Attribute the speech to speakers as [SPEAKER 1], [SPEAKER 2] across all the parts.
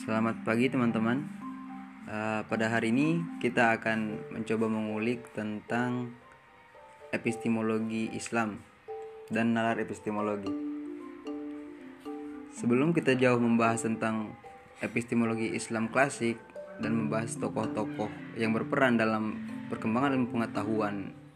[SPEAKER 1] Selamat pagi teman-teman. Pada hari ini kita akan mencoba mengulik tentang epistemologi Islam dan nalar epistemologi. Sebelum kita jauh membahas tentang epistemologi Islam klasik dan membahas tokoh-tokoh yang berperan dalam perkembangan ilmu pengetahuan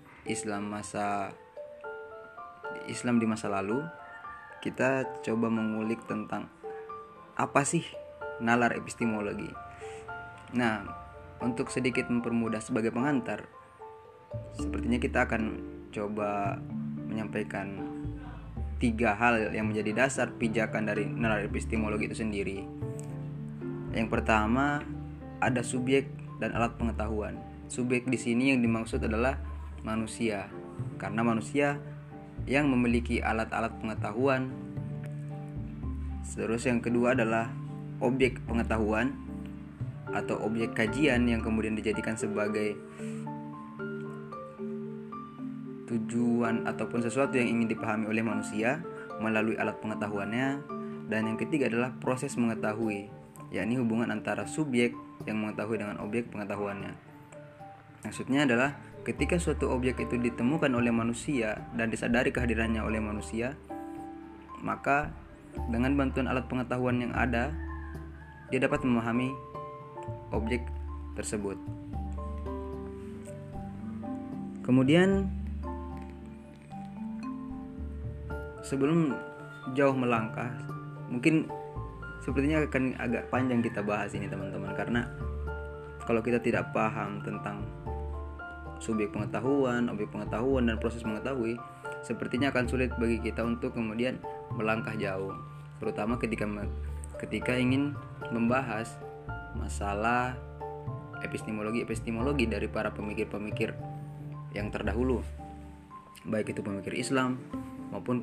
[SPEAKER 1] Islam di masa lalu, kita coba mengulik tentang apa sih nalar epistemologi. Nah, untuk sedikit mempermudah sebagai pengantar, sepertinya kita akan coba menyampaikan 3 hal yang menjadi dasar pijakan dari nalar epistemologi itu sendiri. Yang pertama, ada subjek dan alat pengetahuan. Subjek di sini yang dimaksud adalah manusia, karena manusia yang memiliki alat-alat pengetahuan. Terus yang kedua adalah objek pengetahuan atau objek kajian yang kemudian dijadikan sebagai tujuan ataupun sesuatu yang ingin dipahami oleh manusia melalui alat pengetahuannya. Dan yang ketiga adalah proses mengetahui, yakni hubungan antara subjek yang mengetahui dengan objek pengetahuannya. Maksudnya adalah ketika suatu objek itu ditemukan oleh manusia dan disadari kehadirannya oleh manusia, maka dengan bantuan alat pengetahuan yang ada, dia dapat memahami objek tersebut. Kemudian sebelum jauh melangkah, mungkin sepertinya akan agak panjang kita bahas ini teman-teman, karena kalau kita tidak paham tentang subjek pengetahuan, objek pengetahuan, dan proses mengetahui, sepertinya akan sulit bagi kita untuk kemudian melangkah jauh, terutama ketika ingin membahas masalah epistemologi dari para pemikir-pemikir yang terdahulu, baik itu pemikir Islam maupun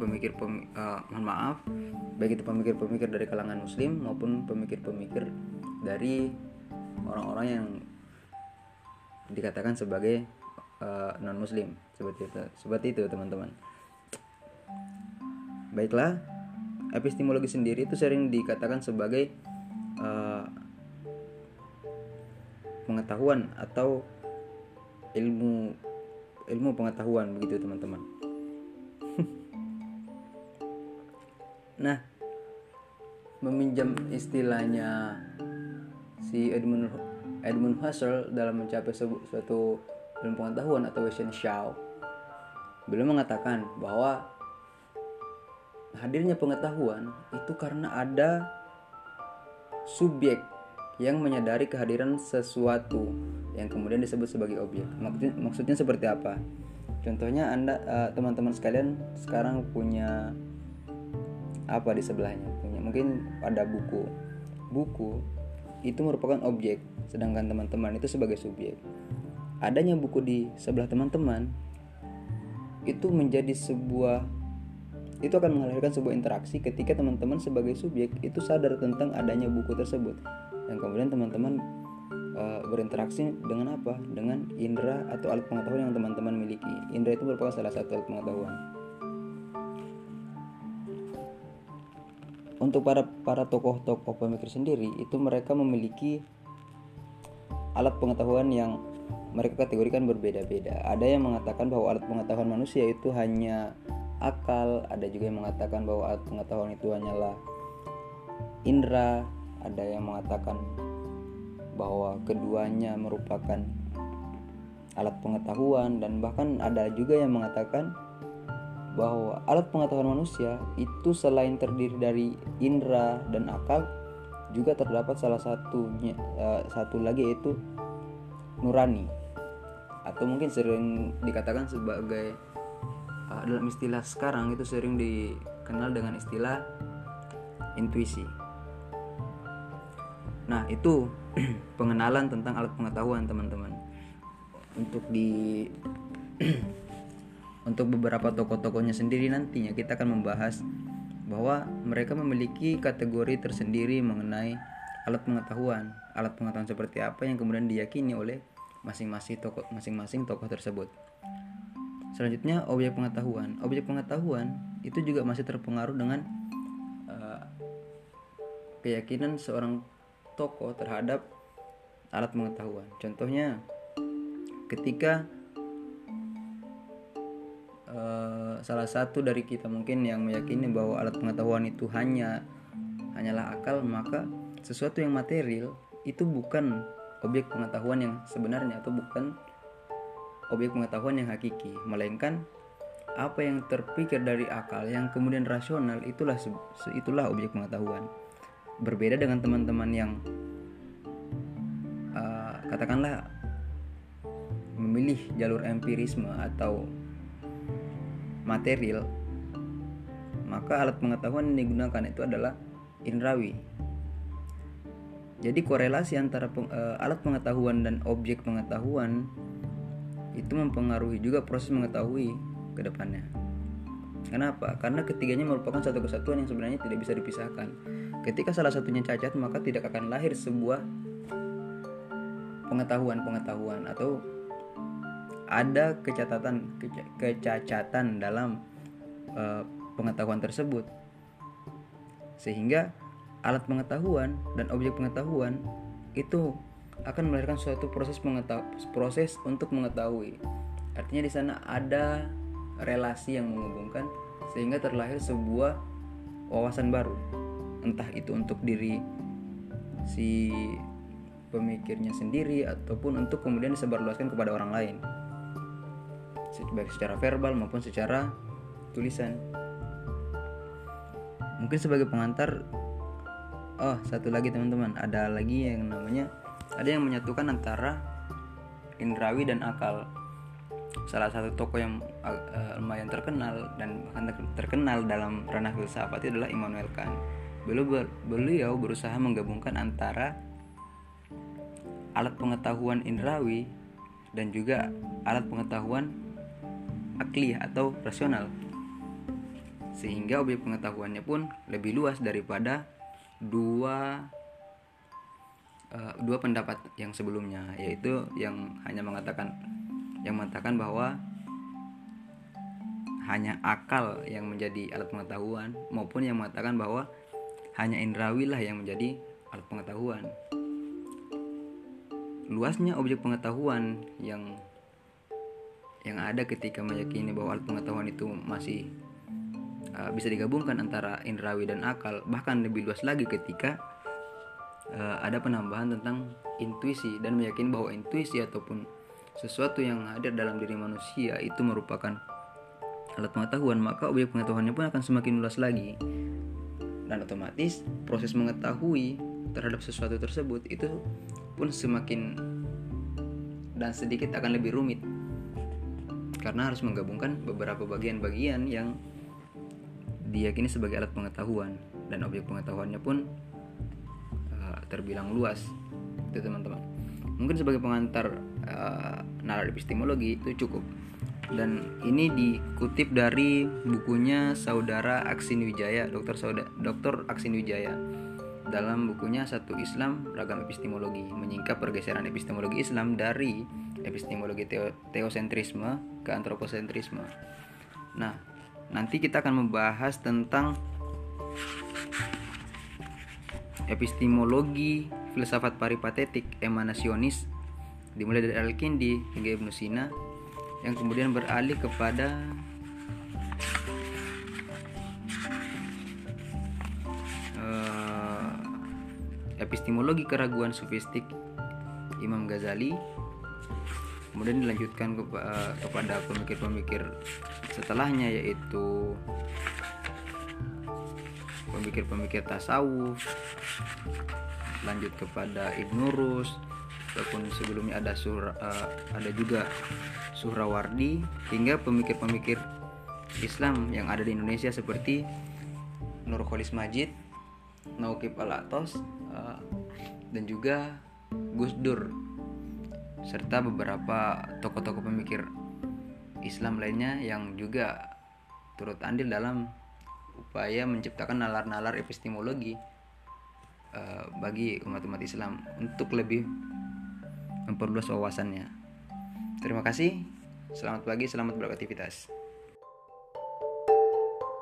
[SPEAKER 1] baik itu pemikir-pemikir dari kalangan Muslim maupun pemikir-pemikir dari orang-orang yang dikatakan sebagai non-Muslim, seperti itu teman-teman. Baiklah, epistemologi sendiri itu sering dikatakan sebagai pengetahuan atau ilmu pengetahuan, begitu teman-teman. Nah, meminjam istilahnya si Edmund Husserl dalam mencapai suatu ilmu pengetahuan atau Wissenschaft, beliau mengatakan bahwa hadirnya pengetahuan itu karena ada subjek yang menyadari kehadiran sesuatu yang kemudian disebut sebagai objek. Maksudnya seperti apa? Contohnya teman-teman sekalian sekarang punya apa di sebelahnya? Mungkin ada buku. Buku itu merupakan objek, sedangkan teman-teman itu sebagai subjek. Adanya buku di sebelah teman-teman itu akan menghasilkan sebuah interaksi ketika teman-teman sebagai subjek itu sadar tentang adanya buku tersebut, dan kemudian teman-teman berinteraksi dengan apa? Dengan indera atau alat pengetahuan yang teman-teman miliki. Indera itu merupakan salah satu alat pengetahuan. Untuk para tokoh-tokoh pemikir sendiri itu mereka memiliki alat pengetahuan yang mereka kategorikan berbeda-beda. Ada yang mengatakan bahwa alat pengetahuan manusia itu hanya akal, ada juga yang mengatakan bahwa alat pengetahuan itu hanyalah indera, ada yang mengatakan bahwa keduanya merupakan alat pengetahuan, dan bahkan ada juga yang mengatakan bahwa alat pengetahuan manusia itu selain terdiri dari indera dan akal, juga terdapat satu lagi, yaitu nurani, atau mungkin sering dikatakan sebagai dalam istilah sekarang itu sering dikenal dengan istilah intuisi. Nah, itu pengenalan tentang alat pengetahuan teman-teman. Untuk beberapa tokoh-tokohnya sendiri nantinya kita akan membahas bahwa mereka memiliki kategori tersendiri mengenai alat pengetahuan. Alat pengetahuan seperti apa yang kemudian diyakini oleh masing-masing tokoh tersebut. Selanjutnya, objek pengetahuan. Objek pengetahuan itu juga masih terpengaruh dengan keyakinan seorang tokoh terhadap alat pengetahuan. Contohnya ketika salah satu dari kita mungkin yang meyakini bahwa alat pengetahuan itu hanyalah akal, maka sesuatu yang material itu bukan objek pengetahuan yang sebenarnya atau bukan objek pengetahuan yang hakiki, melainkan apa yang terpikir dari akal yang kemudian rasional itulah objek pengetahuan. Berbeda dengan teman-teman yang katakanlah memilih jalur empirisme atau material, maka alat pengetahuan yang digunakan itu adalah indrawi. Jadi korelasi antara alat pengetahuan dan objek pengetahuan itu mempengaruhi juga proses mengetahui ke depannya. Kenapa? Karena ketiganya merupakan satu kesatuan yang sebenarnya tidak bisa dipisahkan. Ketika salah satunya cacat, maka tidak akan lahir sebuah pengetahuan atau ada kecacatan dalam pengetahuan tersebut, sehingga alat pengetahuan dan objek pengetahuan itu akan melahirkan suatu proses untuk mengetahui. Artinya di sana ada relasi yang menghubungkan sehingga terlahir sebuah wawasan baru, entah itu untuk diri si pemikirnya sendiri ataupun untuk kemudian disebarluaskan kepada orang lain, baik secara verbal maupun secara tulisan. Mungkin sebagai pengantar, satu lagi teman-teman, ada yang menyatukan antara indrawi dan akal. Salah satu tokoh yang lumayan terkenal dan bahkan terkenal dalam ranah filsafat adalah Immanuel Kant. Beliau berusaha menggabungkan antara alat pengetahuan indrawi dan juga alat pengetahuan akliyah atau rasional, sehingga objek pengetahuannya pun lebih luas daripada dua pendapat yang sebelumnya, yaitu yang mengatakan bahwa hanya akal yang menjadi alat pengetahuan, maupun yang mengatakan bahwa hanya indrawi lah yang menjadi alat pengetahuan. Luasnya objek pengetahuan yang ada ketika meyakini bahwa alat pengetahuan itu masih bisa digabungkan antara indrawi dan akal, bahkan lebih luas lagi ketika ada penambahan tentang intuisi dan meyakini bahwa intuisi ataupun sesuatu yang hadir dalam diri manusia itu merupakan alat pengetahuan, maka objek pengetahuannya pun akan semakin luas lagi, dan otomatis proses mengetahui terhadap sesuatu tersebut itu pun semakin dan sedikit akan lebih rumit, karena harus menggabungkan beberapa bagian-bagian yang diyakini sebagai alat pengetahuan, dan objek pengetahuannya pun terbilang luas. Itu teman-teman. Mungkin sebagai pengantar nalar epistemologi itu cukup. Dan ini dikutip dari bukunya Saudara Aksin Wijaya, Dr. Aksin Wijaya, dalam bukunya Satu Islam Ragam Epistemologi, menyingkap pergeseran epistemologi Islam dari epistemologi teosentrisme ke antroposentrisme. Nah, nanti kita akan membahas tentang epistemologi filsafat peripatetik emanasionis, dimulai dari Al-Kindi hingga Ibnu Sina, yang kemudian beralih kepada epistemologi keraguan sofistik Imam Ghazali, kemudian dilanjutkan kepada pemikir-pemikir setelahnya, yaitu pemikir-pemikir tasawuf, lanjut kepada Ibnu Rus, ataupun sebelumnya ada juga Suhrawardi, hingga pemikir-pemikir Islam yang ada di Indonesia seperti Nurcholish Madjid, Nauqib Al-Atos, dan juga Gus Dur, serta beberapa tokoh-tokoh pemikir Islam lainnya yang juga turut andil dalam upaya menciptakan nalar-nalar epistemologi bagi umat-umat Islam untuk lebih memperluas wawasannya. Terima kasih. Selamat pagi, selamat beraktivitas.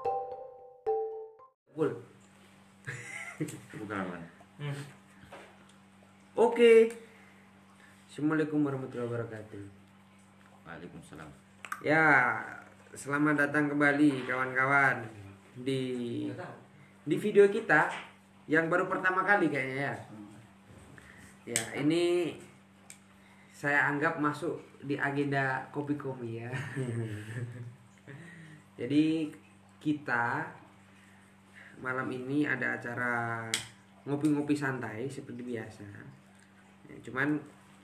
[SPEAKER 2] Bukan. Oke. Assalamualaikum warahmatullahi wabarakatuh.
[SPEAKER 3] Waalaikumsalam.
[SPEAKER 2] Ya, selamat datang kembali kawan-kawan di video kita yang baru pertama kali kayaknya ya. Ya, ini saya anggap masuk di agenda kopi-kopi ya. Jadi kita malam ini ada acara ngopi-ngopi santai seperti biasa. Ya, cuman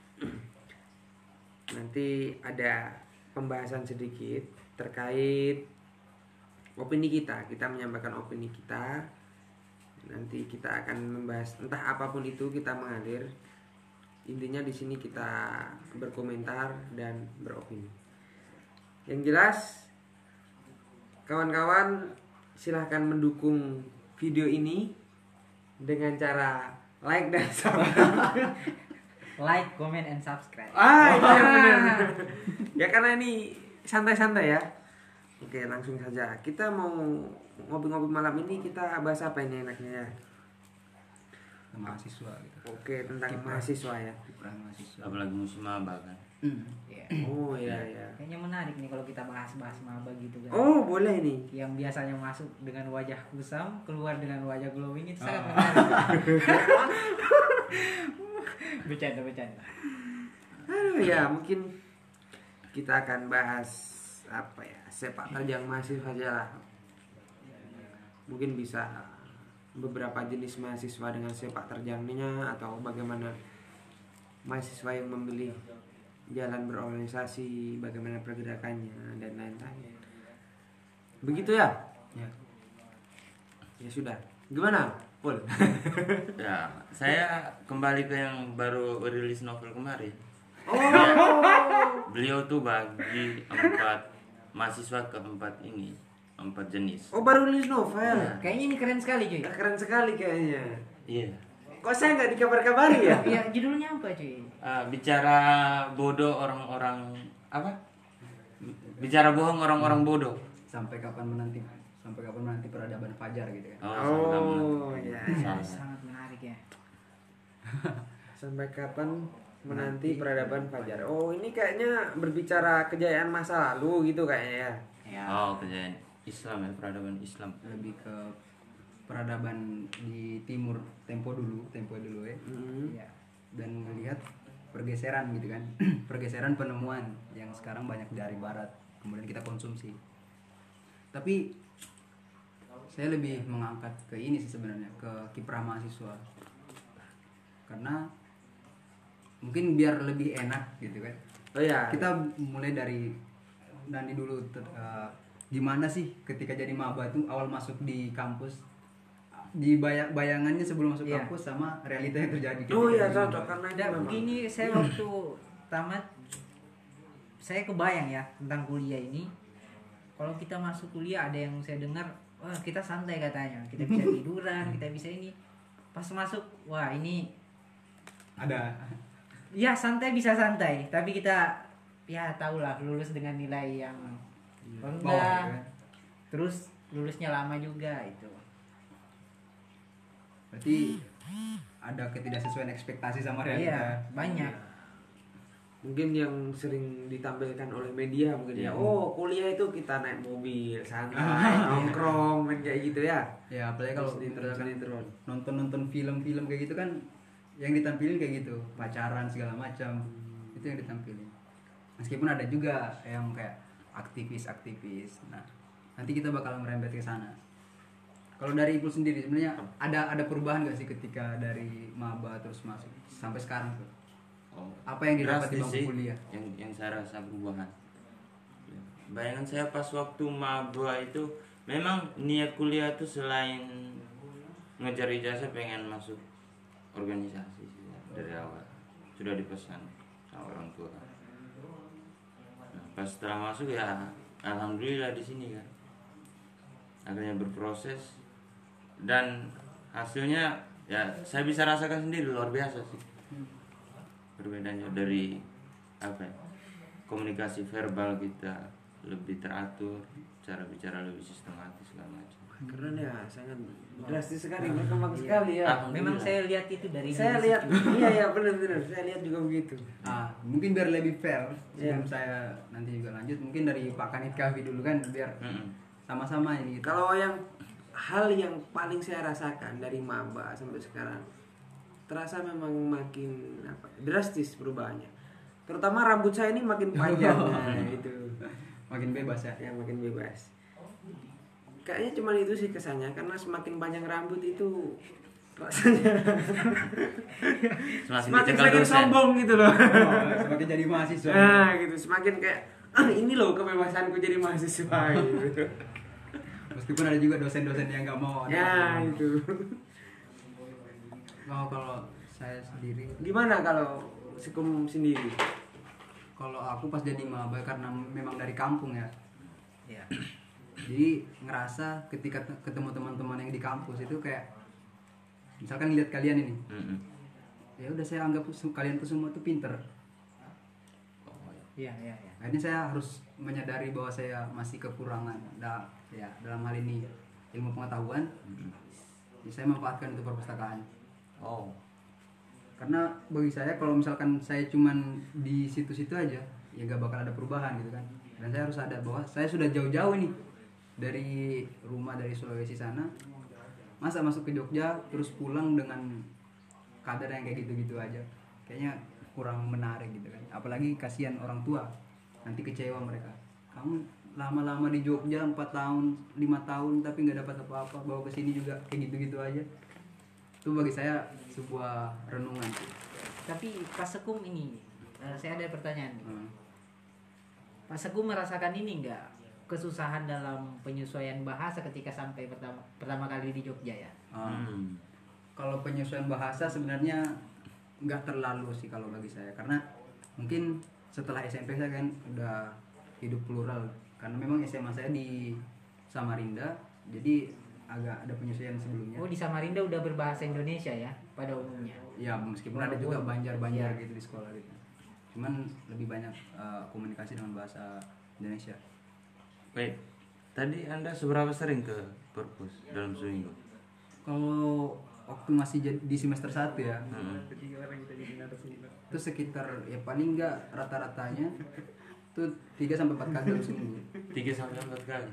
[SPEAKER 2] nanti ada pembahasan sedikit terkait opini kita. Kita menyampaikan opini kita. Nanti kita akan membahas entah apapun itu, kita mengalir. Intinya di sini kita berkomentar dan beropini. Yang jelas, kawan-kawan silahkan mendukung video ini dengan cara like dan subscribe.
[SPEAKER 4] Like, comment, and subscribe.
[SPEAKER 2] Iya benar. Ya karena ini santai-santai ya. Oke, langsung saja. Kita mau ngopi-ngopi malam ini, kita bahas apa ini enaknya ya?
[SPEAKER 1] Mahasiswa gitu.
[SPEAKER 2] Oke, tentang mahasiswa ya.
[SPEAKER 1] Kiprah mahasiswa.
[SPEAKER 3] Apalagi musim maba kan.
[SPEAKER 4] Iya.
[SPEAKER 2] Oh iya iya.
[SPEAKER 4] Kayaknya menarik nih kalau kita bahas-bahas maba gitu kan.
[SPEAKER 2] Oh, boleh nih.
[SPEAKER 4] Yang biasanya masuk dengan wajah kusam, keluar dengan wajah glowing itu sangat menarik. Bercanda.
[SPEAKER 2] Aduh ya, mungkin kita akan bahas apa ya? Sepak terjang mahasiswa aja lah. Mungkin bisa beberapa jenis mahasiswa dengan sepak terjangnya, atau bagaimana mahasiswa yang memilih jalan berorganisasi, bagaimana pergerakannya dan lain-lain. Begitu ya?
[SPEAKER 1] Ya.
[SPEAKER 2] Ya sudah. Gimana, Pul?
[SPEAKER 3] Ya, saya kembali ke yang baru rilis novel kemarin.
[SPEAKER 2] Oh.
[SPEAKER 3] Beliau tuh bagi 4 mahasiswa ke 4 ini, 4 jenis.
[SPEAKER 2] Oh, baru rilis novel.
[SPEAKER 4] Kayaknya ini keren sekali cuy.
[SPEAKER 2] Keren sekali kayaknya.
[SPEAKER 3] Iya.
[SPEAKER 2] Kok saya nggak dikabar-kabari ya?
[SPEAKER 4] Iya, judulnya apa cuy?
[SPEAKER 3] Bicara bodoh orang-orang apa? Bicara bohong orang-orang bodoh.
[SPEAKER 1] Sampai kapan menanti peradaban fajar gitu kan.
[SPEAKER 2] Oh, iya.
[SPEAKER 4] Sangat menarik ya.
[SPEAKER 2] Sampai kapan menanti peradaban fajar? Oh, ini kayaknya berbicara kejayaan masa lalu gitu kayaknya ya.
[SPEAKER 4] Ya.
[SPEAKER 3] Oh, kejadian Islam ya, peradaban Islam.
[SPEAKER 1] Lebih ke peradaban di timur tempo dulu ya.
[SPEAKER 4] Iya.
[SPEAKER 1] Dan melihat pergeseran gitu kan. Pergeseran penemuan yang sekarang banyak dari barat kemudian kita konsumsi. Tapi saya lebih mengangkat ke ini sih sebenarnya, ke kiprah mahasiswa. Karena mungkin biar lebih enak gitu kan.
[SPEAKER 2] Oh ya.
[SPEAKER 1] Kita mulai dari dulu gimana sih ketika jadi maba tuh awal masuk di kampus, di bayangannya sebelum masuk
[SPEAKER 4] Iya.
[SPEAKER 1] kampus sama realita yang terjadi.
[SPEAKER 2] Oh
[SPEAKER 1] ketika
[SPEAKER 2] iya,
[SPEAKER 1] jadi
[SPEAKER 2] cocok
[SPEAKER 1] maba.
[SPEAKER 2] karena itu
[SPEAKER 4] Dan
[SPEAKER 2] memang.
[SPEAKER 4] begini saya waktu tamat saya kebayang ya tentang kuliah ini. Kalau kita masuk kuliah ada yang saya dengar, wah kita santai katanya, kita bisa tiduran, kita bisa ini. Pas masuk, wah ini
[SPEAKER 1] Ada
[SPEAKER 4] ya santai bisa santai, tapi kita ya tahulah lulus dengan nilai yang
[SPEAKER 1] bawah
[SPEAKER 4] rendah,
[SPEAKER 1] gitu kan.
[SPEAKER 4] terus lulusnya lama juga itu.
[SPEAKER 1] Berarti ada ketidaksesuaian ekspektasi sama realita.
[SPEAKER 4] Iya banyak.
[SPEAKER 2] Mungkin yang sering ditampilkan oleh media mungkin ya. Oh, kuliah itu kita naik mobil, santai, nongkrong, main kayak gitu ya.
[SPEAKER 1] Ya apalagi kalau
[SPEAKER 2] sinetron.
[SPEAKER 1] nonton film-film kayak gitu kan yang ditampilin kayak gitu, pacaran segala macam. Itu yang ditampilin. Meskipun ada juga yang kayak aktivis. Nah, nanti kita bakal merembet ke sana. Kalau dari Ipul sendiri sebenarnya ada perubahan gak sih ketika dari maba terus masuk sampai sekarang tuh?
[SPEAKER 3] Oh,
[SPEAKER 1] Apa yang didapat di
[SPEAKER 3] drastis
[SPEAKER 1] bangku
[SPEAKER 3] sih
[SPEAKER 1] kuliah?
[SPEAKER 3] yang saya rasa perubahan. Bayangan saya pas waktu maba itu memang niat kuliah tuh selain ngejar ijazah pengen masuk organisasi sih dari awal. Sudah dipesan sama orang tua. Nah, pas setelah masuk ya alhamdulillah di sini kan. Akhirnya berproses dan hasilnya ya saya bisa rasakan sendiri luar biasa sih. Perbedaannya dari apa ya, komunikasi verbal kita lebih teratur, cara bicara lebih sistematis segala macam.
[SPEAKER 2] Keren ya, sangat drastis sekali, berkembang sekali ya.
[SPEAKER 4] Memang saya lihat itu dari
[SPEAKER 2] Saya
[SPEAKER 4] diri
[SPEAKER 2] lihat, iya benar-benar, saya lihat juga begitu.
[SPEAKER 1] Mungkin biar lebih fair
[SPEAKER 2] Iya.
[SPEAKER 1] sebelum saya nanti juga lanjut, mungkin dari Pak Kanit Kahvi dulu kan, biar sama-sama ini gitu.
[SPEAKER 2] Kalau yang hal yang paling saya rasakan dari maba sampai sekarang, terasa memang makin drastis perubahannya. Terutama rambut saya ini makin panjang, nah, itu.
[SPEAKER 1] Makin bebas ya.
[SPEAKER 2] Ya makin bebas. Kayaknya cuma itu sih kesannya, karena semakin panjang rambut itu rasanya semakin
[SPEAKER 3] dicekal dosen.
[SPEAKER 2] sombong gitu loh.
[SPEAKER 1] Semakin jadi mahasiswa.
[SPEAKER 2] Nah gitu, semakin kayak ini loh kebebasanku jadi mahasiswa gitu.
[SPEAKER 1] Meskipun ada juga dosen-dosen yang nggak mau.
[SPEAKER 2] Ya itu.
[SPEAKER 1] Kalau saya sendiri,
[SPEAKER 2] Gimana kalau Sukum sendiri?
[SPEAKER 1] kalau aku pas jadi maba karena memang dari kampung ya.
[SPEAKER 4] Ya.
[SPEAKER 1] Jadi ngerasa ketika ketemu teman-teman yang di kampus itu kayak misalkan lihat kalian ini, ya udah saya anggap kalian tuh semua tuh pinter.
[SPEAKER 4] Iya.
[SPEAKER 1] Akhirnya saya harus menyadari bahwa saya masih kekurangan dalam hal ini ilmu pengetahuan. Jadi saya manfaatkan itu perpustakaan. Karena bagi saya kalau misalkan saya cuman di situ-situ aja, ya gak bakal ada perubahan gitu kan. Dan saya harus sadar bahwa saya sudah jauh-jauh nih dari rumah, dari Sulawesi sana, masa masuk ke Jogja terus pulang dengan kadar yang kayak gitu-gitu aja, kayaknya kurang menarik gitu kan. Apalagi kasihan orang tua, nanti kecewa mereka. Kamu lama-lama di Jogja 4 tahun, 5 tahun tapi nggak dapat apa-apa, bawa ke sini juga kayak gitu-gitu aja. Itu bagi saya sebuah renungan sih.
[SPEAKER 4] Tapi Pak Sekum ini, saya ada pertanyaan. Pak Sekum merasakan ini enggak kesusahan dalam penyesuaian bahasa ketika sampai pertama kali di Jogja ya?
[SPEAKER 1] Kalau penyesuaian bahasa sebenarnya nggak terlalu sih kalau bagi saya, karena mungkin setelah SMP saya kan udah hidup plural, karena memang SMA saya di Samarinda, jadi agak ada penyesuaian sebelumnya.
[SPEAKER 4] Oh, di Samarinda udah berbahasa Indonesia ya pada umumnya.
[SPEAKER 1] Ya meskipun ada juga banjar-banjar gitu di sekolah gitu, cuman lebih banyak komunikasi dengan bahasa Indonesia.
[SPEAKER 3] Baik, tadi Anda seberapa sering ke perpus dalam seminggu?
[SPEAKER 1] Kalau waktu masih di semester 1 ya, itu sekitar ya paling enggak rata-ratanya tuh 3-4 kali dalam seminggu.
[SPEAKER 3] 3-4 kali.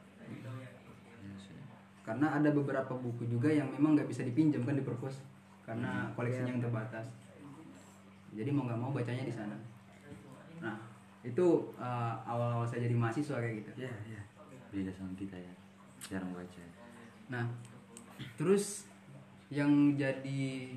[SPEAKER 1] Karena ada beberapa buku juga yang memang nggak bisa dipinjam kan di perpus karena koleksinya yang terbatas. Jadi mau nggak mau bacanya di sana. Nah itu awal-awal saya jadi mahasiswa kayak gitu.
[SPEAKER 2] Ya.
[SPEAKER 3] Beda sama kita ya, jarang baca.
[SPEAKER 1] Nah terus yang jadi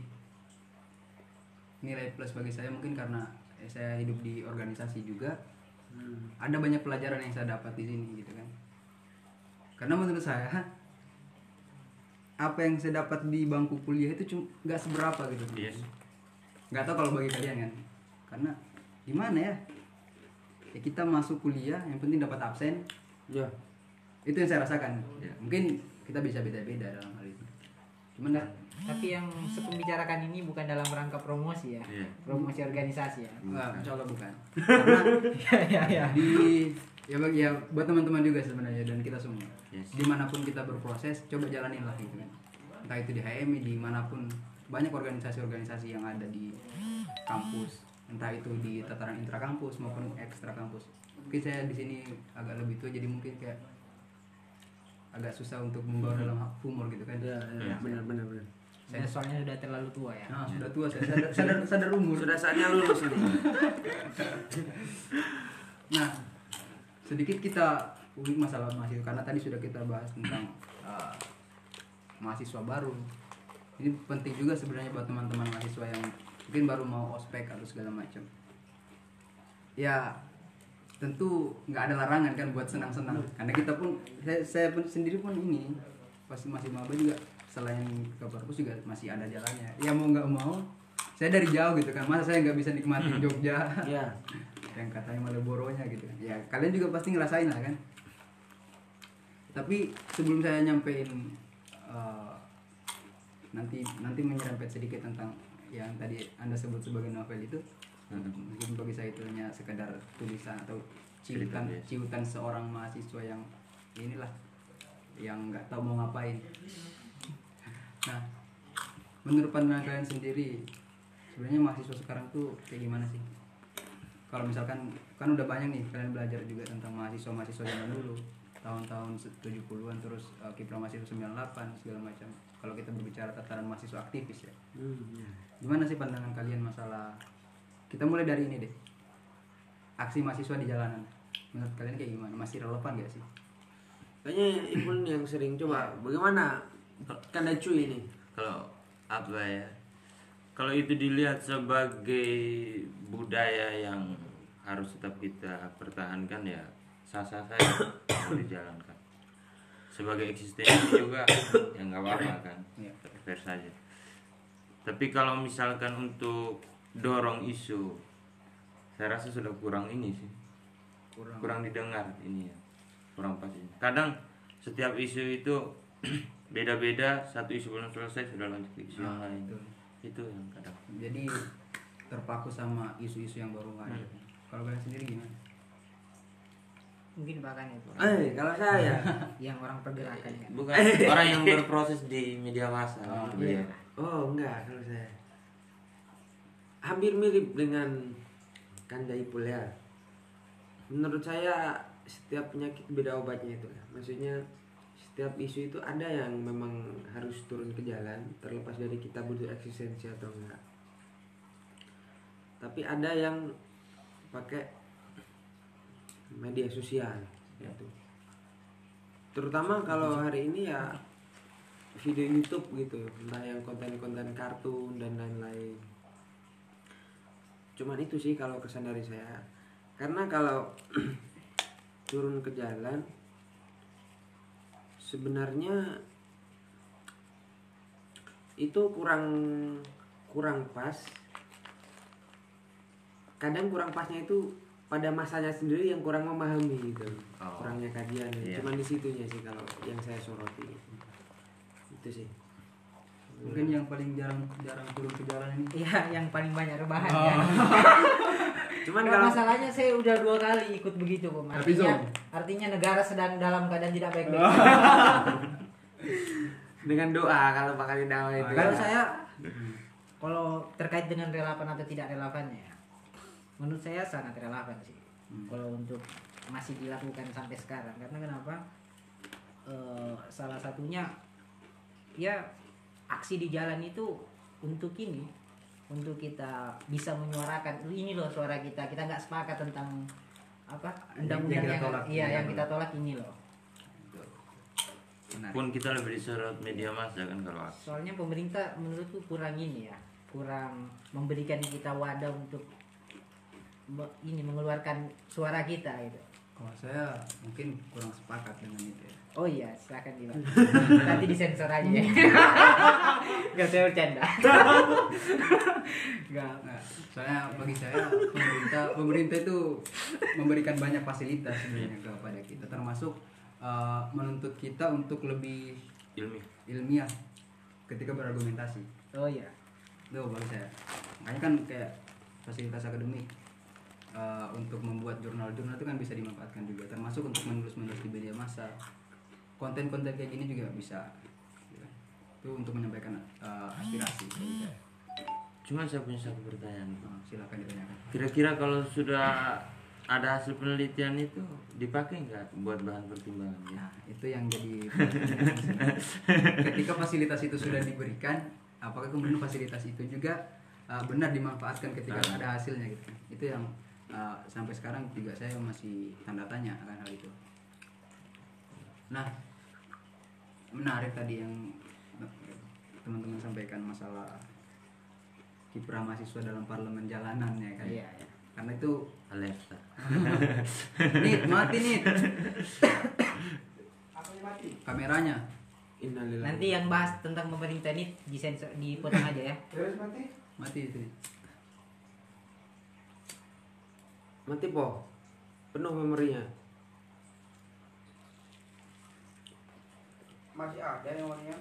[SPEAKER 1] nilai plus bagi saya mungkin karena saya hidup di organisasi juga, ada banyak pelajaran yang saya dapat di sini gitu kan. Karena menurut saya apa yang saya dapat di bangku kuliah itu cuma nggak seberapa gitu.
[SPEAKER 3] Yes.
[SPEAKER 1] Nggak tahu kalau bagi kalian kan, karena gimana ya, kita masuk kuliah yang penting dapat absen.
[SPEAKER 2] Ya.
[SPEAKER 1] Itu yang saya rasakan ya. Mungkin kita bisa beda-beda dalam hal itu, cuman
[SPEAKER 4] Tapi yang Sekum bicarakan ini bukan dalam rangka promosi ya,
[SPEAKER 3] Iya.
[SPEAKER 4] promosi organisasi ya.
[SPEAKER 1] insya Allah bukan. Karena
[SPEAKER 4] ya.
[SPEAKER 1] ya buat teman-teman juga sebenarnya dan kita semua,
[SPEAKER 3] Yes.
[SPEAKER 1] dimanapun kita berproses coba jalanin lah gitu kan. Entah itu di HMI, dimanapun, banyak organisasi-organisasi yang ada di kampus, entah itu di tataran intrakampus maupun ekstra kampus. Mungkin saya di sini agak lebih tua jadi mungkin kayak agak susah untuk membawa dalam humor gitu kan.
[SPEAKER 2] Ya, benar.
[SPEAKER 4] Saya soalnya sudah terlalu tua ya.
[SPEAKER 1] Nah, sudah tua saya sadar umur.
[SPEAKER 2] Sudah saatnya lulus ini.
[SPEAKER 1] Nah, sedikit kita ulik masalah mahasiswa karena tadi sudah kita bahas tentang mahasiswa baru. Ini penting juga sebenarnya buat teman-teman mahasiswa yang mungkin baru mau ospek atau segala macam. Ya, tentu nggak ada larangan kan buat senang-senang. Karena kita pun, saya pun sendiri pun ini pasti masih maba juga, selain ke perpus juga masih ada jalannya. Ya mau nggak mau, saya dari jauh gitu kan. Masa saya nggak bisa nikmatin Jogja?
[SPEAKER 2] Ya.
[SPEAKER 1] Yang katanya Malioboro-nya gitu kan. Ya kalian juga pasti ngerasain lah kan. Tapi sebelum saya nyampein nanti menyerempet sedikit tentang yang tadi Anda sebut sebagai novel itu, mungkin bagi saya itu hanya sekedar tulisan atau ciutan
[SPEAKER 3] biasa.
[SPEAKER 1] ciutan seorang mahasiswa yang inilah yang nggak tahu mau ngapain. Nah, menurut pandangan kalian sendiri sebenarnya mahasiswa sekarang tuh kayak gimana sih? Kalau misalkan kan udah banyak nih kalian belajar juga tentang mahasiswa zaman dulu tahun-tahun 70-an terus kiprah mahasiswa 98 segala macam. Kalau kita berbicara tataran mahasiswa aktivis ya. Gimana sih pandangan kalian masalah, kita mulai dari ini deh, aksi mahasiswa di jalanan. Menurut kalian kayak gimana? Masih relevan gak sih?
[SPEAKER 2] Kayaknya Ipun yang sering coba. Bagaimana Kanda Cuy ini?
[SPEAKER 3] Kalau apa ya, kalau itu dilihat sebagai budaya yang harus tetap kita pertahankan ya sah-sah saja mau dijalankan. Sebagai eksistensi juga ya nggak apa-apa kan, fair saja. Tapi kalau misalkan untuk dorong isu, saya rasa sudah kurang ini sih, kurang didengar ini ya, kurang pas ini. Kadang setiap isu itu beda-beda, satu isu belum selesai sudah lanjut ke isu yang lain. Itu yang kadang.
[SPEAKER 1] Jadi terpaku sama isu-isu yang baru ada. Kalau kalian sendiri gimana?
[SPEAKER 4] Mungkin bahkan itu
[SPEAKER 2] Kalau saya
[SPEAKER 4] yang orang pergerakan kan.
[SPEAKER 3] Bukan orang yang berproses di media massa.
[SPEAKER 4] Iya.
[SPEAKER 2] enggak, kalau saya hampir mirip dengan Kanda Ipul ya. Menurut saya setiap penyakit beda obatnya itu ya. Maksudnya setiap isu itu ada yang memang harus turun ke jalan terlepas dari kita butuh eksistensi atau enggak. Tapi ada yang pakai media sosial gitu. Terutama kalau hari ini ya video YouTube gitu, entah yang konten-konten kartun dan lain-lain. Cuman itu sih kalau kesan dari saya. Karena kalau turun ke jalan sebenarnya itu kurang pas. Kadang kurang pasnya itu pada masanya sendiri yang kurang memahami gitu. Kurangnya kajian.
[SPEAKER 3] Iya.
[SPEAKER 2] Cuman di situnya sih kalau yang saya soroti. Itu sih.
[SPEAKER 1] Mungkin yang paling jarang turun ke jalan ini.
[SPEAKER 4] Iya, yang paling banyak rebahan ya.
[SPEAKER 2] Cuman
[SPEAKER 4] Nggak,
[SPEAKER 2] kalau
[SPEAKER 4] masalahnya saya udah 2 kali ikut begitu, Om. Artinya negara sedang dalam keadaan tidak baik-baik.
[SPEAKER 2] dengan doa kalau bakal dakwah itu.
[SPEAKER 4] Kalau saya kalau terkait dengan relevan atau tidak relevannya, menurut saya sangat relevan sih. Kalau untuk masih dilakukan sampai sekarang, karena kenapa? Salah satunya ya aksi di jalan itu untuk ini, untuk kita bisa menyuarakan ini loh suara kita. Kita nggak sepakat tentang apa undang-undang yang kita tolak ini loh.
[SPEAKER 3] Pun kita lebih disorot media massa kan kalau aksi.
[SPEAKER 4] Soalnya pemerintah menurutku kurang ini ya, kurang memberikan kita wadah untuk ini mengeluarkan suara kita gitu.
[SPEAKER 1] Kalau saya mungkin kurang sepakat dengan itu ya.
[SPEAKER 4] Oh iya, silakan Dimas. Nanti disensor aja ya. Gak, saya bercanda. Gak.
[SPEAKER 1] Nah, soalnya bagi saya pemerintah itu memberikan banyak fasilitas sebenarnya kepada kita, termasuk menuntut kita untuk lebih ilmiah ketika berargumentasi.
[SPEAKER 4] Oh iya.
[SPEAKER 1] Itu bagi saya. Makanya kan kayak fasilitas akademik untuk membuat jurnal-jurnal itu kan bisa dimanfaatkan juga, termasuk untuk menulis di media massa. Konten-konten kayak gini juga bisa. Itu untuk menyampaikan aspirasi bagi saya.
[SPEAKER 3] Cuma saya punya satu pertanyaan.
[SPEAKER 1] Silakan ditanyakan.
[SPEAKER 3] Kira-kira kalau sudah ada hasil penelitian itu dipakai nggak buat bahan pertimbangan?
[SPEAKER 1] Nah, itu yang jadi ketika fasilitas itu sudah diberikan, apakah kemudian fasilitas itu juga benar dimanfaatkan ketika ada hasilnya gitu kan? Itu yang sampai sekarang juga saya masih tanda tanya akan hal itu. Nah, menarik tadi yang teman-teman sampaikan masalah kiprah mahasiswa dalam parlemen jalanan ya kan.
[SPEAKER 4] Iya, iya.
[SPEAKER 1] Karena itu
[SPEAKER 3] Alexa.
[SPEAKER 1] mati nih. Kameranya.
[SPEAKER 2] Innalillahi.
[SPEAKER 4] Nanti yang bahas tentang pemerintah ini disensor, dipotong aja ya.
[SPEAKER 1] Mati itu.
[SPEAKER 2] Mati po. Penuh memorinya.
[SPEAKER 5] Masih ada yang warnanya.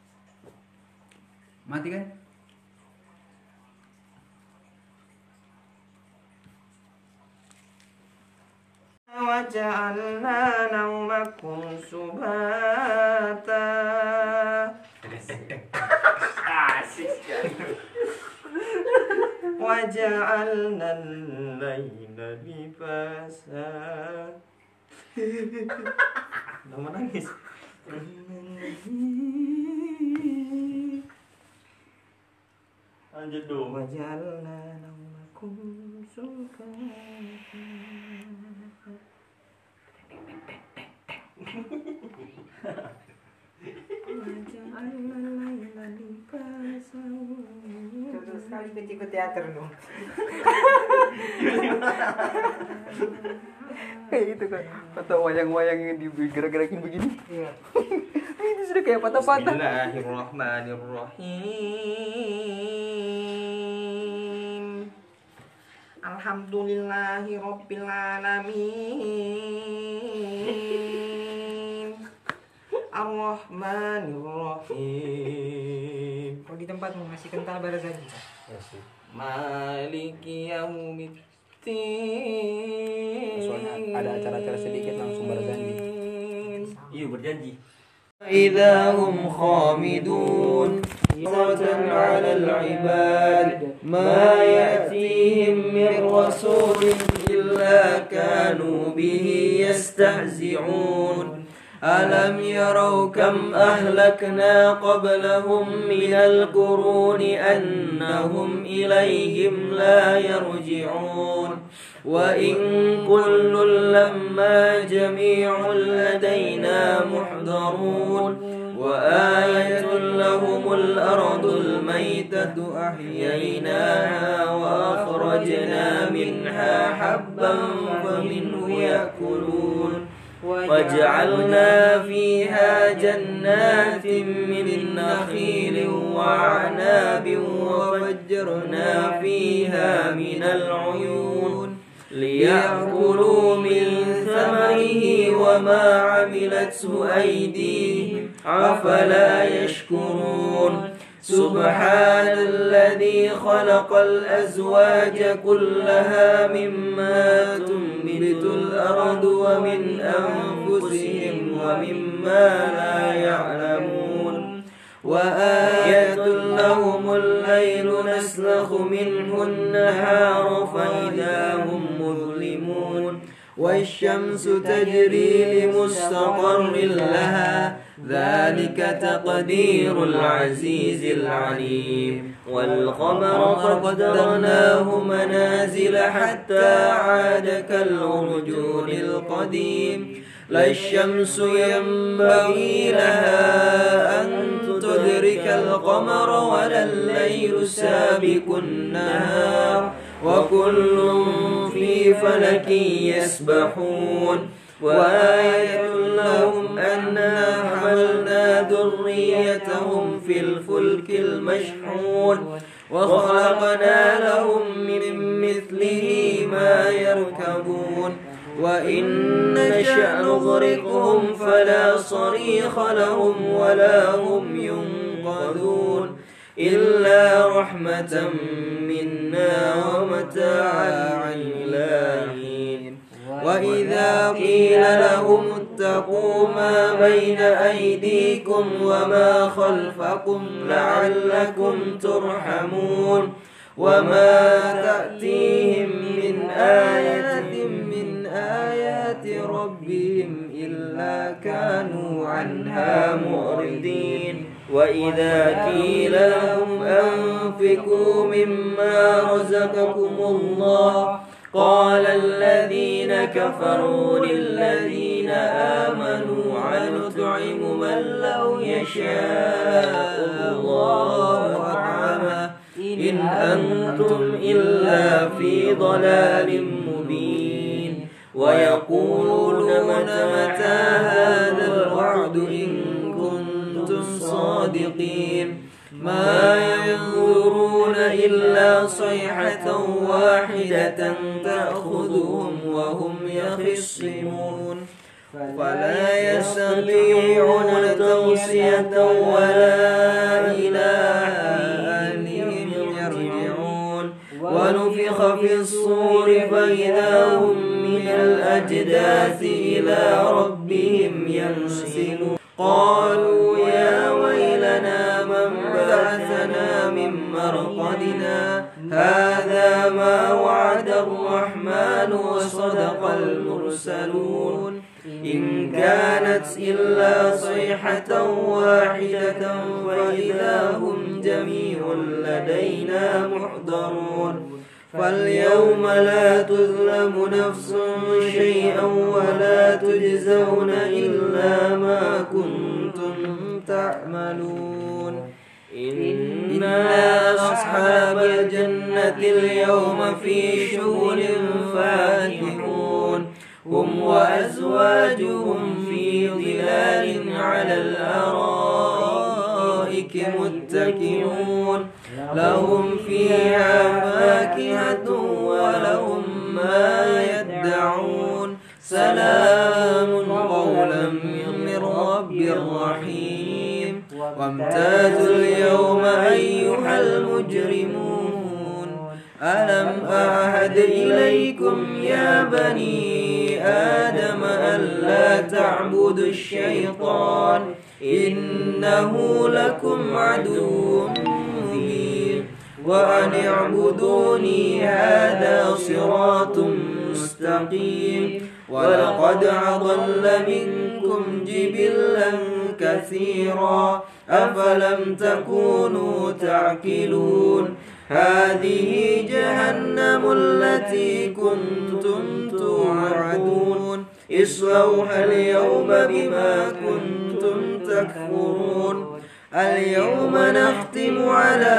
[SPEAKER 1] Mati kan?
[SPEAKER 3] وجعلنا نومكم سباتا. وجعلنا الليل لباسا. Udah mau nangis. Lanjut dong. Waj'alna naumakum subata. Waj'alna laila libasa.
[SPEAKER 4] Contoh sekali ke teater dong.
[SPEAKER 1] Kayak gitu kan, atau wayang-wayang yang digerak-gerakin begini.
[SPEAKER 4] Iya.
[SPEAKER 1] Itu sudah kayak patah-patah.
[SPEAKER 3] Bismillahirrahmanirrahim. Alhamdulillahirabbil alamin. Ar-Rahmanirrahim.
[SPEAKER 4] Kalau di tempatmu masih kental Barzanji.
[SPEAKER 3] Maliki yaumiddin.
[SPEAKER 1] Soalnya ada acara-acara sedikit langsung berjanji.
[SPEAKER 3] Iya berjanji. إذا هم خامدون على العباد ما يأتيهم من رسول إلا كانوا به يستهزئون ألم يروا كم أهلكنا قبلهم من القرون أنهم إليهم لا يرجعون وإن كل لما جميع لدينا محضرون وآية لهم الأرض الميتة أحييناها وأخرجنا منها حبا فمنه يأكلون وجعلنا فيها جنات من نخيل وعناب وفجرنا فيها من العيون ليأكلوا من ثمره وما عملته أيديهم أفلا يشكرون سبحان الذي خلق الأزواج كلها مما تنبت الأرض ومن أنفسهم ومما لا يعلمون وآية لهم الليل نسلخ منه النهار فإذا هم مظلمون والشمس تجري لمستقر لها ذلك تقدير العزيز العليم والقمر قدرناه منازل حتى عاد كالعرجون القديم لا الشمس ينبغي لها أن تدرك القمر ولا الليل سابق النهار وكل في فلك يسبحون وآية لهم أنا حملنا ذريتهم في الفلك المشحون وخلقنا لهم من مثله ما يركبون وإن نشأ نغرقهم فلا صريخ لهم ولا هم ينقذون إلا رحمة منا ومتاعا إلى حين وإذا قيل لهم اتقوا ما بين أيديكم وما خلفكم لعلكم ترحمون وما تأتيهم من آية من آيات ربهم إلا كانوا عنها معرضين وإذا قيل لهم أنفقوا مما رزقكم الله قال الذين كفروا للذين آمنوا هل نطعم من لو يشاء الله أطعمه إن أنتم إلا في ضلال مبين ويقولون متى هذا الوعد إن كنتم صادقين ما ينظرون إلا صيحة واحدة تأخذهم وهم يخصمون فلا يستطيعون توصية ولا إلى أهلهم يرجعون ونفخ في الصور فإذا هم من
[SPEAKER 5] الأجداث إلى ربهم ينسلون قالوا يا ويلنا من بعثنا من مرقدنا هذا ما وعد الرحمن وصدق المرسلون إن كانت إلا صيحة واحدة فإذا هم جميع لدينا محضرون فاليوم لا تظلم نفس شيئا ولا تجزون إلا ما كنتم تعملون إنا أصحاب الجنة اليوم في شغل فاكهون هم وأزواجهم في ظلال على الأرائك متكئون لهم فيها فاكهة ولهم ما يدعون سلام قولا من رب رحيم وامتازوا اليوم أيها المجرمون ألم أعهد إليكم يا بني آدم ألا تعبدوا الشيطان إنه لكم عدو مبين وأن اعبدوني هذا صراط مستقيم ولقد أضل منكم جبلا كثيرا أفلم تكونوا تعقلون هذه جهنم التي كنتم توعدون اصلوها اليوم بما كنتم تكفرون اليوم نختم على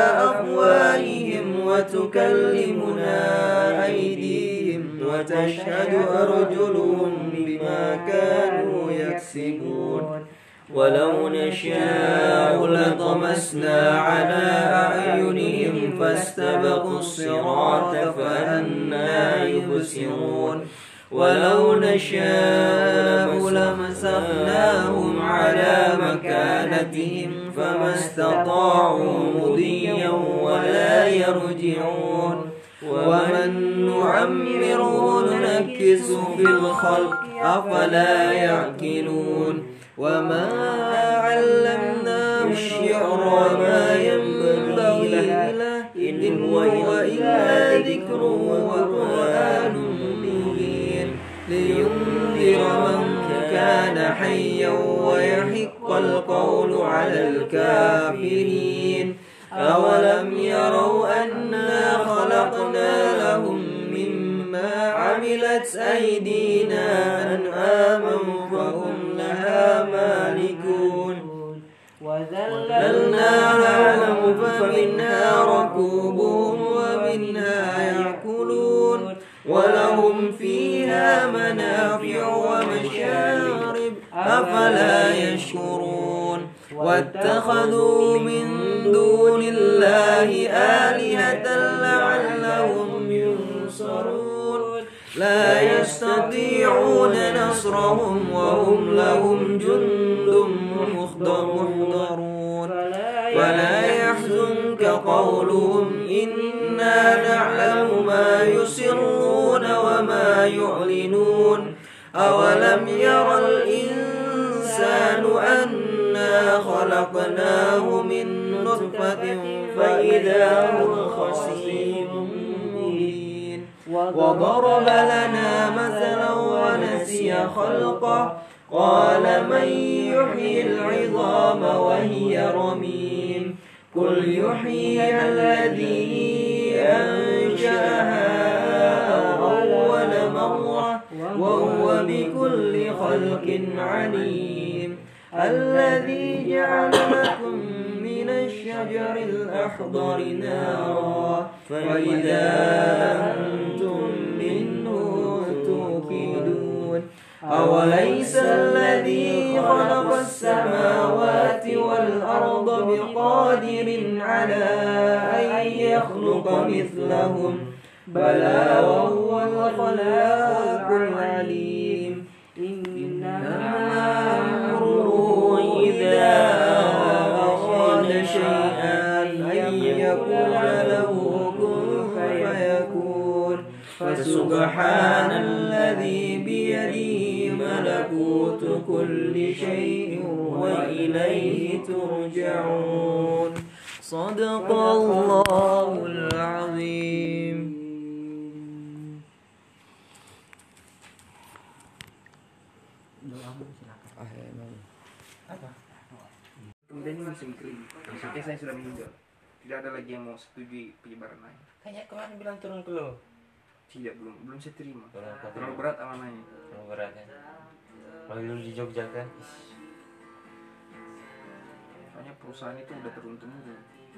[SPEAKER 5] أفواههم وتكلمنا أيديهم وتشهد أرجلهم بما كانوا يكسبون ولو نشاء لطمسنا على أعينهم فاستبقوا الصراط فأنى يبصرون ولو نشاء لمسخناهم على مكانتهم فما استطاعوا مضيا ولا يرجعون ومن نعمره ننكس في الخلق أفلا يعقلون وما علمناه الشعر وما ينبغي له إن هو إلا ذكر وقرآن مبين لينذر من كان حيا ويحق القول على الكافرين أولم يروا أنا خلقنا لهم مما عملت أيدينا أنعاما فهم لها مالكون وذللناها لهم فمنها ركوبهم ومنها يأكلون ولهم فيها منافع ومشارب أفلا يشكرون واتخذوا من دون الله آلهة لعلهم ينصرون لا يستطيعون نصرهم وهم لهم جند محضرون فلا يحزنك قولهم إنا نعلم ما يسرون وما يعلنون أولم ير الإنسان أنا خلقناه من نطفة فإذا هو خصيم مبين وضرب لنا مثلا ونسي خلقه قال من يحيي العظام وهي رميم قل يحييها الذي أنشأها أول مرة وهو بكل خلق عليم الذي جعل لكم من الشجر الأخضر نارا فإذا أنتم منه توقدون أوليس الذي خلق السماوات والأرض بقادر على أن يخلق مثلهم بلى وهو الخلاق العليم إنما أمره إذا أراد شيئا أن يقول له كن فيكون فسبحان الذي ملكوت كل شيء وإليه ترجعون صدق الله العظيم.
[SPEAKER 2] Kemudian ini musim kering. Maksudnya saya sudah meninggal. Tidak ada lagi yang mau setujui penyebaran air.
[SPEAKER 3] Kayaknya kemarin bilang turun ke lo.
[SPEAKER 2] Tidak, belum saya terima.
[SPEAKER 3] Terlalu
[SPEAKER 2] Terlalu berat amanahnya.
[SPEAKER 3] Terlalu berat ya. Kalau dulu di Jogja kan.
[SPEAKER 2] Soalnya perusahaan itu udah turun temurun.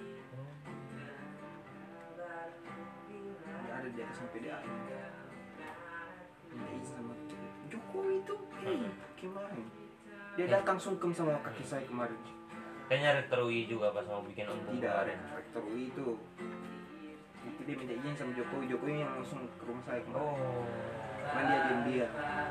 [SPEAKER 2] Tidak ada di atasnya PDAM. Minta izin sama Jokowi itu kemarin. Dia datang sungkem sama kaki saya kemarin.
[SPEAKER 3] Kayaknya rektor UI juga pas mau bikin embung
[SPEAKER 2] Tidak,
[SPEAKER 3] kemarin.
[SPEAKER 2] rektor UI itu dia minta izin sama Jokowi yang langsung ke rumah saya kemarin.
[SPEAKER 3] Oh.
[SPEAKER 2] Cuman dia diam-diam.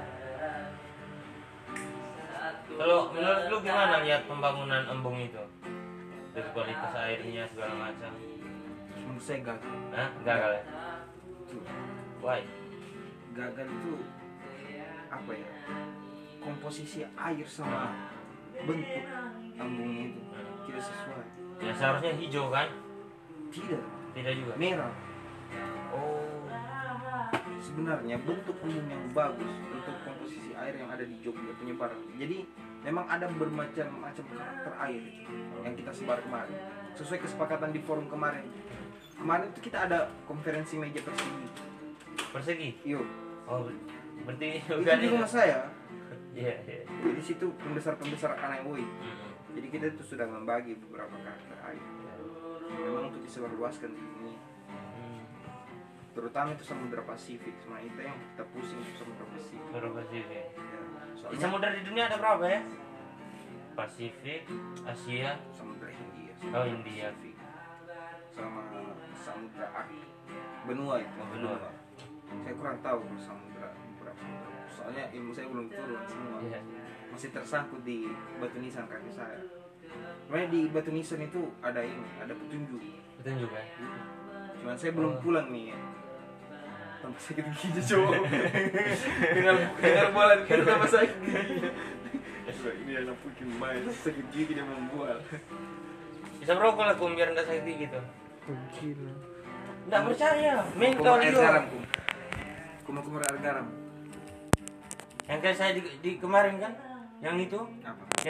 [SPEAKER 3] Kalau menurut lu gimana lihat pembangunan embung itu? Dari kualitas airnya segala macam.
[SPEAKER 2] Menurut saya gagal.
[SPEAKER 3] Hah? Gagal ya?
[SPEAKER 2] Tuh,
[SPEAKER 3] Why?
[SPEAKER 2] gagal itu apa ya? Komposisi air sama bentuk embungnya itu tidak sesuai.
[SPEAKER 3] Ya seharusnya hijau kan?
[SPEAKER 2] Tidak,
[SPEAKER 3] Tidak juga.
[SPEAKER 2] merah.
[SPEAKER 3] Oh.
[SPEAKER 2] Sebenarnya bentuk embung yang bagus untuk komposisi air yang ada di Jogja penyebaran. Jadi memang ada bermacam-macam karakter air yang kita sebar kemarin. Sesuai kesepakatan di forum kemarin. Kemarin itu kita ada konferensi meja persegi.
[SPEAKER 3] Persegi?
[SPEAKER 2] Yuk,
[SPEAKER 3] Oh, berarti
[SPEAKER 2] itu di rumah saya.
[SPEAKER 3] Iya, iya.
[SPEAKER 2] Di situ pembesar-pembesar anak UI.
[SPEAKER 3] Hmm.
[SPEAKER 2] Jadi kita itu sudah membagi beberapa karakter air. Memang untuk disebarluaskan di dunia. Terutama itu Samudra Pasifik. Sebenarnya itu yang kita pusing itu Samudra Pasifik.
[SPEAKER 3] Baru Pasifik.
[SPEAKER 2] Ya,
[SPEAKER 3] Di
[SPEAKER 2] soalnya
[SPEAKER 3] samudra di dunia ada berapa ya? Pasifik, Asia,
[SPEAKER 2] Samudra Hindia,
[SPEAKER 3] Oh, Hindia.
[SPEAKER 2] Pasifik, sama Samudra Arctic. Benua itu.
[SPEAKER 3] Oh, benua.
[SPEAKER 2] Saya kurang tahu kalau samudra berapa samudra. Soalnya ilmu saya belum turun semua.
[SPEAKER 3] Iya.
[SPEAKER 2] Masih tersangkut di batu nisan kaki saya. Sebenarnya di batu nisan itu ada ini, ada petunjuk.
[SPEAKER 3] Betul juga.
[SPEAKER 2] Cuman saya belum pulang nih ya. Tambah sakit gigi coba. Dengan bola kita tambah sakit gigi. Ini anak bikin main sakit gigi dia membual.
[SPEAKER 3] Bisa merokok lah kum biar nggak sakit gitu.
[SPEAKER 2] Gila.
[SPEAKER 3] Nggak percaya. Main
[SPEAKER 2] Kumar
[SPEAKER 3] kau
[SPEAKER 2] air
[SPEAKER 3] juga.
[SPEAKER 2] garam kum. Kumar air garam.
[SPEAKER 3] Yang kayak saya di kemarin kan, yang itu
[SPEAKER 2] Apa?